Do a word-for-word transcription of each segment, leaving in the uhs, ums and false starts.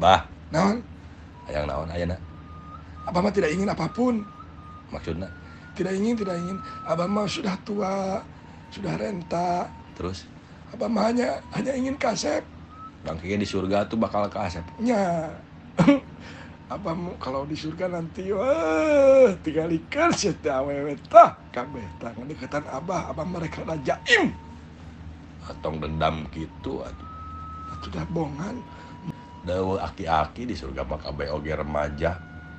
Bah, Naon? hayang naon ayeuna? Abah mah tidak ingin apapun. Maksudna Tidak ingin, tidak ingin. Abah mah sudah tua, sudah renta. terus Abah mah hanya hanya ingin kasep. bangkitnya di surga tuh bakal ke asep. Nya. Abah mau kalau di surga nanti wah tinggal ikan sih awewe tah kabeh tah deketan abah abah mereka ada jaim Atong dendam gitu atuh. atuh dah bongan Dawa aki-aki di surga mah kabeh oge remaja.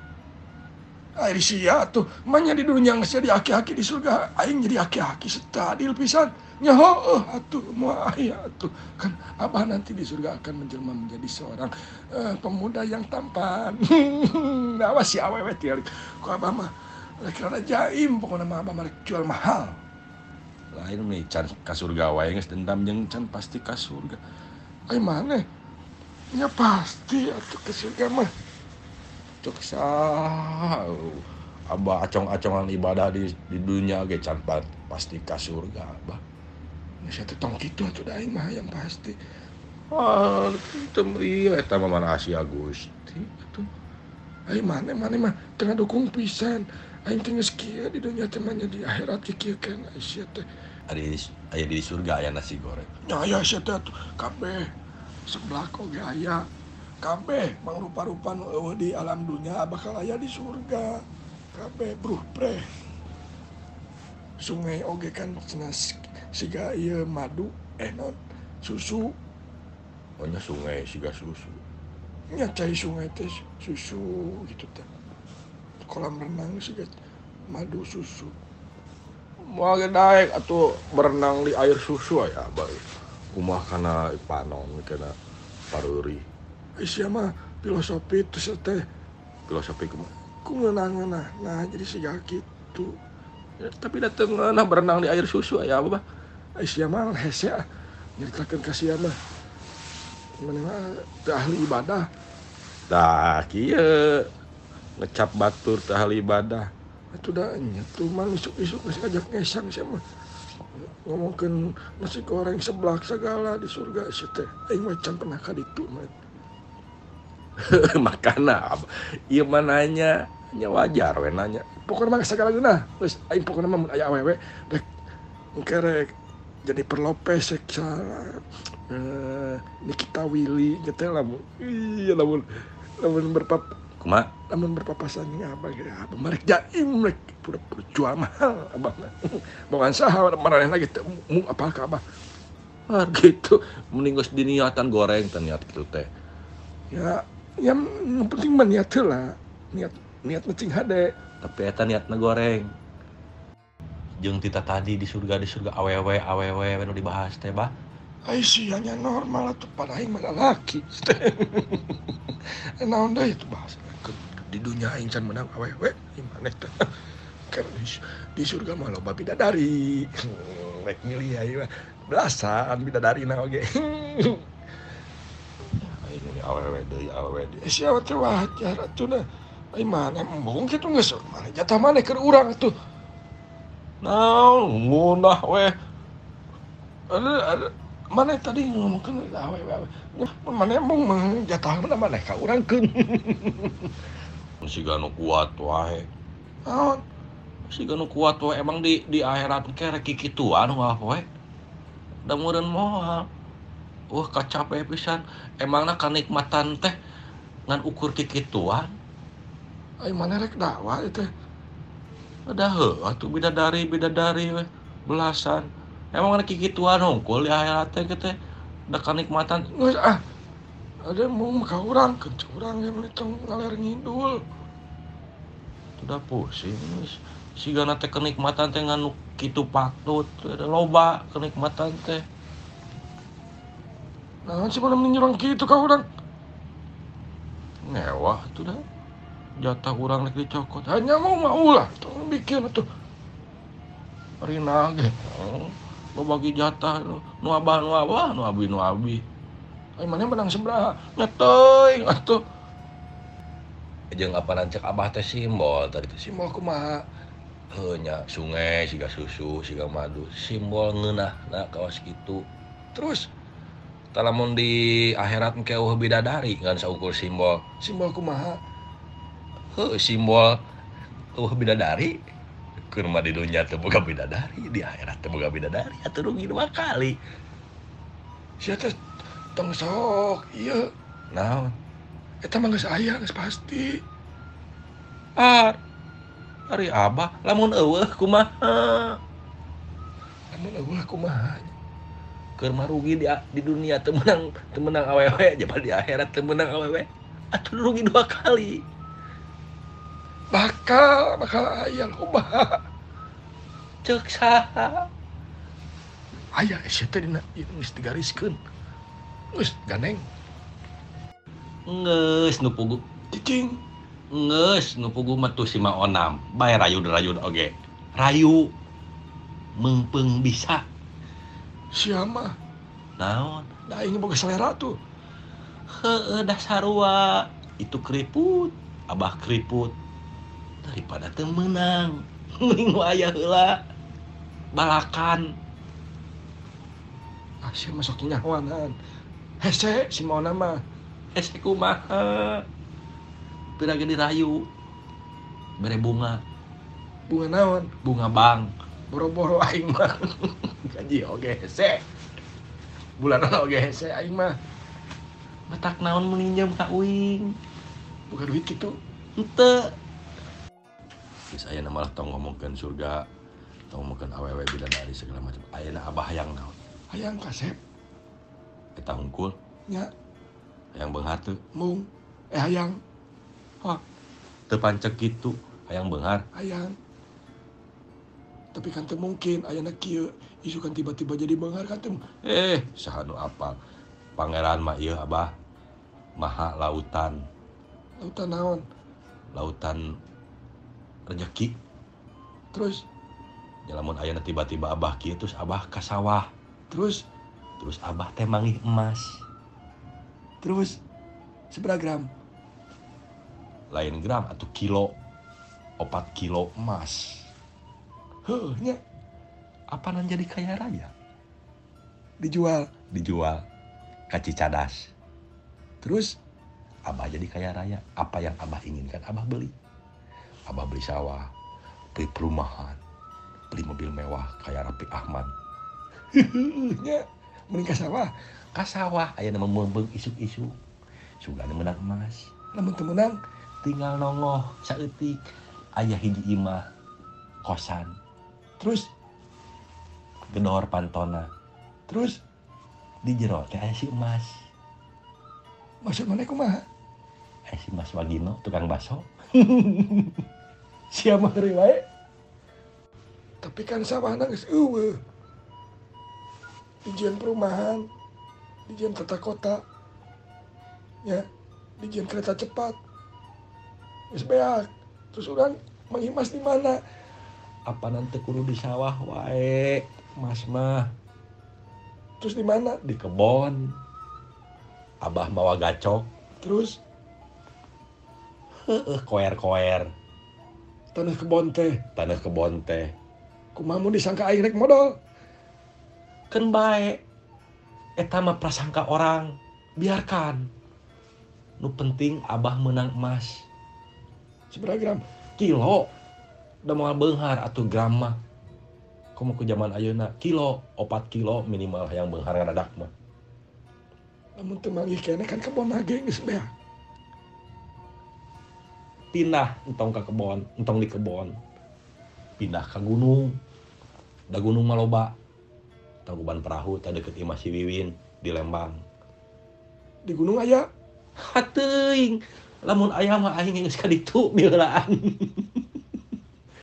air sia tuh manya di dunia geus jadi aki-aki di surga aing jadi aki-aki setadil pisan nya heueuh atuh moal aya atuh kan abah nanti di surga akan menjelma menjadi seorang uh, pemuda yang tampan. Awas si awewe tinggal ku abah mah rek rada jaim pokona mah abah mah rek jual mahal. Lain nih can ka surga wae geus dendam jeung can pasti ka surga. Ai maneh nya pasti atuh ke surga mah. Cuk sah. Abah acong-acongan ibadah di di dunia ge can pasti ka surga abah. Nya saya teh tong kitu atuh da aing mah yang pasti. Ah, teu ieu eta mah mana Asia Gusti atuh. Ai maneh maneh mah teu ngadukung pisan. Aing teh geus kieu di dunia teh mah nya di akhirat kieu kan sia teh. Ari aya di surga aya nasi goreng. Nya aya sia teh atuh kabeh sebelah oge aya. Kabeh mangrupa-rupa nu eueuh di alam dunia bakal aya di surga. Kabeh bruh preh. Sungai oge kan cenah siga ieu madu eh non susu. Pokoknya sungai siga susu. Nya cai sungai teh susu gitu teh. Kolam renang siga madu susu. Moal ge daek atuh berenang di air susu aya abah. Kumaha kana panon kana pareuri. Ai sia mah filosofi teh teh Filosofi kumaha? ku ngeunah-ngeunah nah jadi siga kitu. Ya, tapi dateng nah berenang di air susu aya apa bah? Ai sia mah hese ah nyaritakeun ka sia mah. Mana mah teu ahli ibadah. Tah kieu ngecap batur teh ahli ibadah. Atuh da nya tuh mah isuk-isuk geus ngajak ngesang sia mah. Ngomongkeun nasi goreng seblak segala di surga sia teh. Aing mah can pernah ka ditu mah. Makana ieu mah nanya nya wajar we nanya. Pokona mah segala geunah. Geus aing pokona mah mun aya awewe rek engke rek Jennifer Lopez rek salah. Eh Nikita Willy gitu lamun. Iya lamun lamun berpap Kumaha? lamun berpapasan jeung abah ge abah mah rek jaim rek pura-pura jual mahal abah mah. Bogan saha maranehna gitu mu apal ka abah. Ah gitu mending geus diniatan goreng teh niat kitu teh. Ya yang penting mah niat heula. Niat niat penting hade. Tapi eta niatna goreng. Jeung tita tadi di surga di surga awewe awewe anu dibahas teh bah. Ai sia nya normal atuh pada aing mah lalaki. Naon deui itu bahasa. Di dunia aing can menang awewe gimana teh. Kan di surga mah loba bidadari. Rek milih aing mah belasan bidadarina oge. Ini awewe deui awewe deui. Sia teh wajar atuh nah. Ai mana embung kitu geus mana jatah maneh keur urang atuh. Naon ngunah we. Ada ada mana tadi ngomongkeun awewe awewe. Mana embung jatah maneh ka urangkeun. Siga nu kuat wae. Naon? Siga nu kuat wae emang di di akhirat ke rek kikituan wah we. Da meureun moal. Wah kacape pisan. Emangna kanikmatan teh ngan ukur kikituan. Ai mana rek dakwah teh. Ada heuh atuh bidadari-bidadari we belasan. Emang ada kikituan hungkul di akhirat teh teh. Da kanikmatan Geus ah. Ada mau ka urang keun urang yang tong ngaler ngidul. udah pusing sigana teh kenikmatan teh nganu kitu patut ada loba kenikmatan teh. Nah, sih mana menyerang gitu ka urang. Mewah tuh dah. Jatah urang rek dicokot. Hanya mau mau lah, tong bikin atuh. Rina ge. Lo bagi jatah nu abah nu abah nu abi nu abi. Ai mana menang sebelah. Nyeteuing atuh. Jeung apa nancek abah teh simbol tadi teh Simbol kumaha? heuh nya sungai siga susu siga madu simbol ngeunahna kawas kitu. Terus Talamun di akhirat engke eueuh bidadari ngan saukur simbol. Simbol kumaha? Heuh simbol eueuh bidadari. Keur mah di dunya teu boga bidadari, di akhirat teu boga bidadari, atuh rugi dua kali. Sia teh tong sok ieu. Naon? Eta mah geus aya geus pasti. Ar. Ari Abah lamun eueuh kumaha? Lamun eueuh kumaha? Keur mah rugi di di dunia teu meunang teu meunang awewe, japan di akhirat teu meunang awewe. Atuh rugi dua kali. Bakal, bakal aya loba. Ceuk saha? Aya sia teh dina ieu geus digariskeun. Geus ganeng. Geus nu pugu Cicing. Geus nu pugu mah tuh si Maonam. Bae rayud-rayud oge. Rayu. Meungpeung bisa. Sia mah Naon? da aing boga selera tuh. Heueuh dah sarua. Itu keriput, Abah keriput. Daripada teu meunang. Mending nu aya heula. Balakan. Ah sia mah sok nyahoanan. Hese si maona mah. Hese kumaha? Pira ge dirayu. Bere bunga, Bunga naon? bunga bang. Boro-boro aing mah. Gaji oge hese. Bulanan oge hese aing mah. Matak naon meninjam ka uing. Buka duit kitu. Henteu. Geus aya malah tong ngomongkeun surga, tong ngomongkeun awewe bidadari segala macam. Ayeuna Abah hayang naon? Hayang kasep Eta hungkul, nya hayang beunghar teu? mung eh hayang Hah. Teu pancek kitu, hayang beunghar. hayang. Tapi kan teu mungkin ayana kieu isu kan tiba-tiba jadi beunghar kan teu. Eh, saha nu apal. Pangeran mah ieu Abah. Maha lautan, Lautan naon? lautan rezeki. Terus Ya lamun ayeuna tiba-tiba Abah kieu terus Abah ka sawah. terus Terus Abah teh manggih emas. terus seberapa gram? Lain gram atau kilo. Opat kilo emas. Heuh nya Apaan jadi kaya raya? dijual. Dijual ka Cicadas. Terus Abah jadi kaya raya. Apa yang Abah inginkan Abah beli. Abah beli sawah, beli perumahan, beli mobil mewah kayak Raffi Ahmad. nya mending ka sawah. Ka sawah aya nama meumbeung isu-isu. Sugana menang emas. Lamun teu meunang Tinggal nongoh saeutik aya hiji imah kosan, terus gedor pantona. terus Di jero teh aya si emas. maksud mana kumaha? Aya si Mas Wagino tukang baso. Sia mah heureuy wae. Tapi kan sawahna geus eueuh. Dijian perumahan, dijian tata kota, ya, dijian kereta cepat, geus beak. Terus urang manghimas di mana? Apa nanti kudu di sawah wae, Mas mah. Terus di mana? Di kebon. Abah mawa gacok. Terus Heeh, koer-koer. tanah kebon teh, Tanah kebon teh. kumaha mun disangka aing rek modal? Kan bae. Eta mah prasangka orang. Biarkan. Nu penting Abah menang emas. Seberapa gram? Kilo. Da moal beunghar atuh gram mah. Komo ku zaman ayeuna kilo, opat kilo minimal hayang beunghar ngadadak mah. Lamun teu manggih keneh kan kebon ge geus beak. Pindah entong ka kebon, entong di kebon. Pindah ka gunung. Da gunung mah loba. Tangkuban perahu teh deukeut Imah Si Wiwin di Lembang. Di gunung aya. Hateuing, lamun aya mah aing geus ka ditu mieulaan.